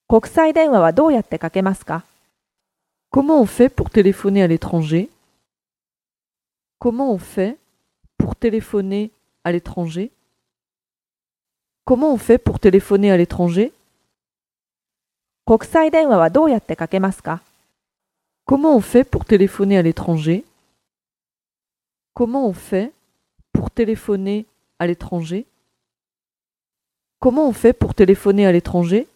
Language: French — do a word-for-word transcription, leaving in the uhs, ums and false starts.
国際電話はどうやってかけますか？ Comment on fait pour téléphoner à l'étranger? Comment on fait pour téléphoner à l'étranger? Comment on fait pour téléphoner à l'étranger? 国際電話はどうやってかけますか？ Comment on fait pour téléphoner à l'étranger? Comment on fait pour téléphoner à l'étranger? Comment on fait pour téléphoner à l'étranger?